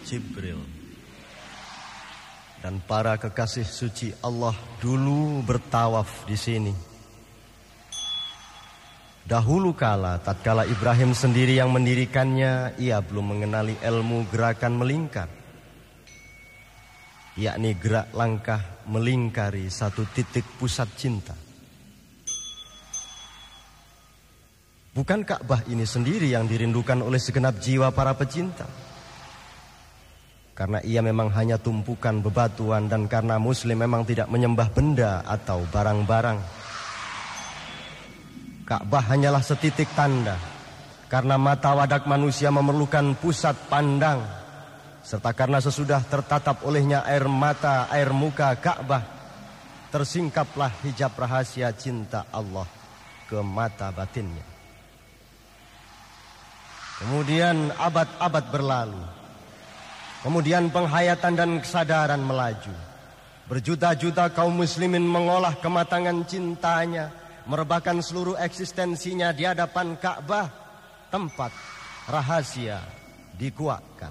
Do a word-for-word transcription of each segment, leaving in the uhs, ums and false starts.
Jibril dan para kekasih suci Allah dulu bertawaf di sini. Dahulu kala, tatkala Ibrahim sendiri yang mendirikannya, ia belum mengenali ilmu gerakan melingkar, yakni gerak langkah melingkari satu titik pusat cinta. Bukan Ka'bah ini sendiri yang dirindukan oleh segenap jiwa para pecinta, karena ia memang hanya tumpukan bebatuan dan karena Muslim memang tidak menyembah benda atau barang-barang. Ka'bah hanyalah setitik tanda, karena mata wadak manusia memerlukan pusat pandang, serta karena sesudah tertatap olehnya air mata, air muka Ka'bah, tersingkaplah hijab rahasia cinta Allah ke mata batinnya. Kemudian abad-abad berlalu, kemudian penghayatan dan kesadaran melaju. Berjuta-juta kaum muslimin mengolah kematangan cintanya, merebahkan seluruh eksistensinya di hadapan Ka'bah, tempat rahasia dikuatkan.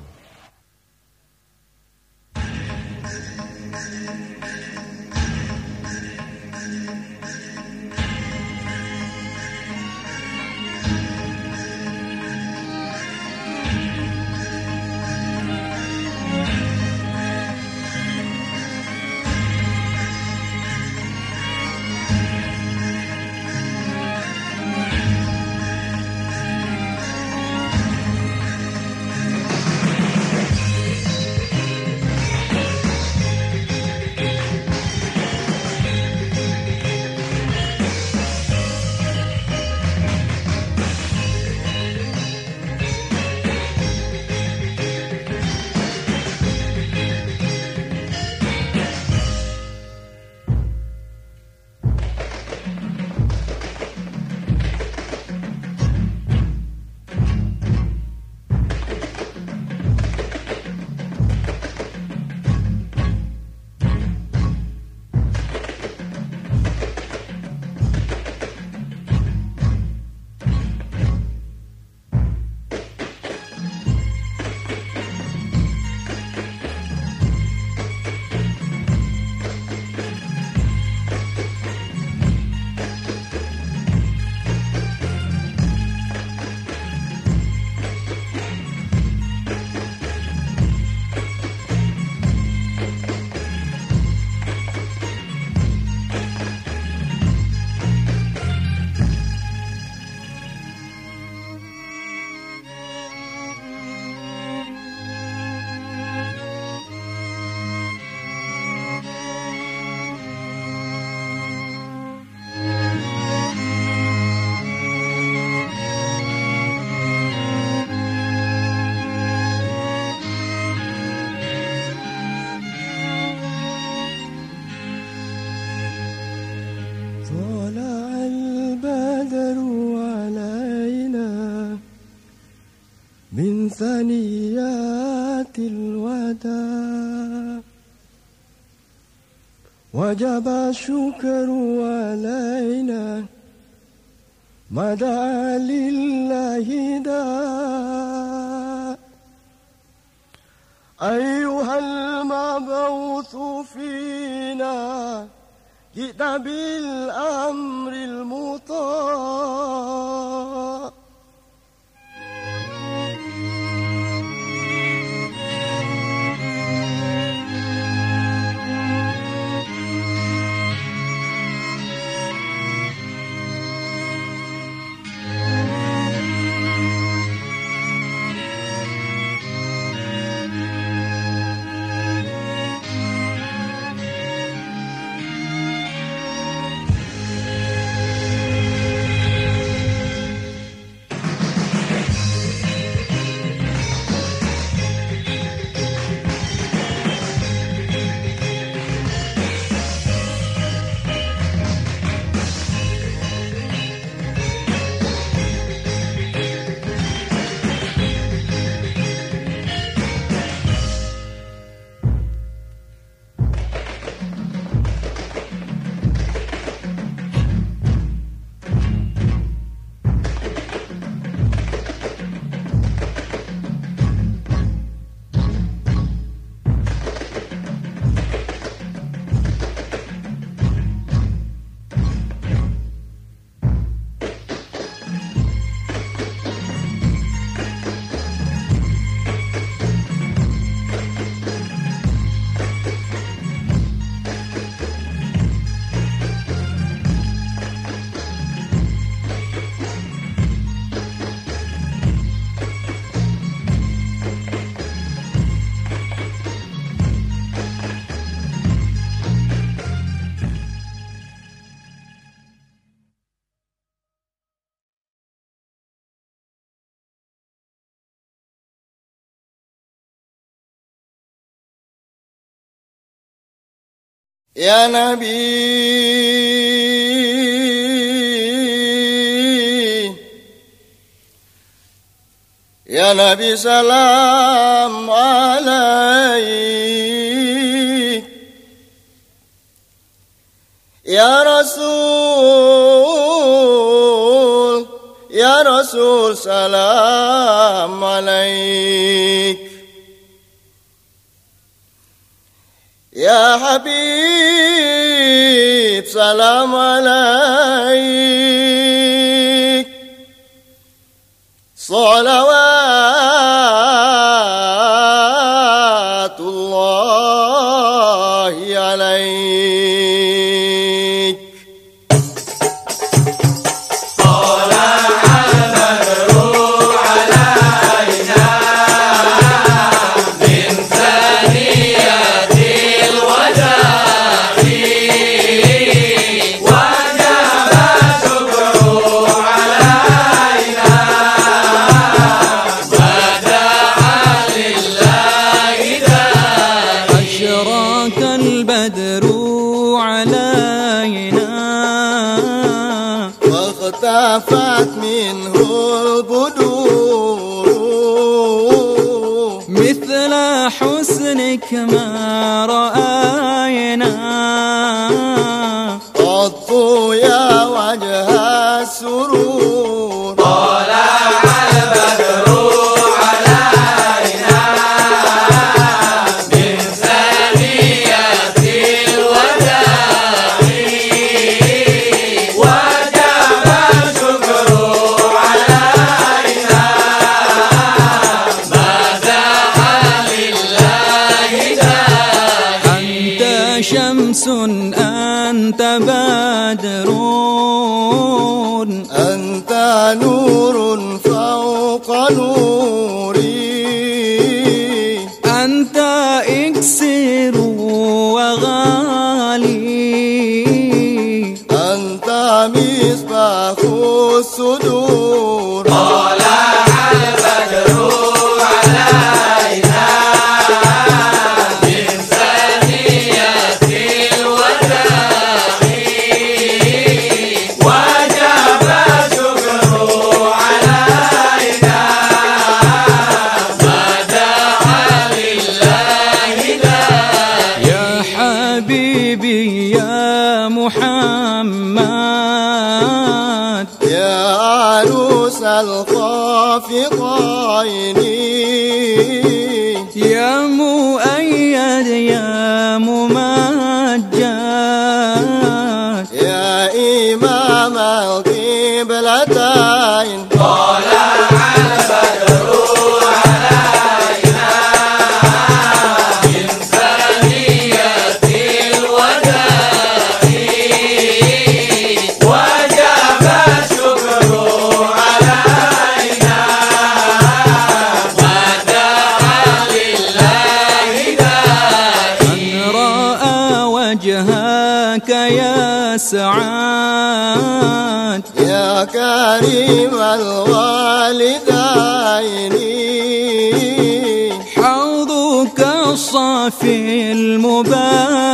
من ثنيات الوداع وجب الشكر علينا ما دعا لله داع أيها المبعوث فينا جئت بالأمر المطاع يا نبي يا نبي سلام عليك يا رسول يا رسول سلام عليك يا حبيب سلام عليك صلوات الله عليك واختفت منه البدور مثل حسنك ما رأينا قط يا وجه السرور طلع البدر علينا من ثنية الوداع وجب الشكر علينا مدحا لله داعي أنت شمس أنت بدر أنت نور فوق نوري أنت إكسير وغالي أنت مصباح الصدور طلع البدر علينا من ثنية الوداع وجب الشكر علينا مدحا لله داعي يا حبيبي يا محمد يا عروس الخافقين يا مؤيد يا ممجد يا إمام القبلتين طلع البدر علينا من ثنية الوداع وجب الشكر علينا مدحا لله داعي من رأى وجهك يا سعاد يا كريم الوالدين حوضك الصافي المبارك